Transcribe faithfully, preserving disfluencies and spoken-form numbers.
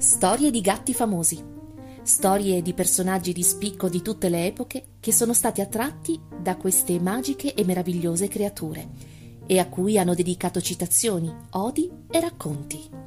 Storie di gatti famosi. Storie di personaggi di spicco di tutte le epoche che sono stati attratti da queste magiche e meravigliose creature e a cui hanno dedicato citazioni, odi e racconti.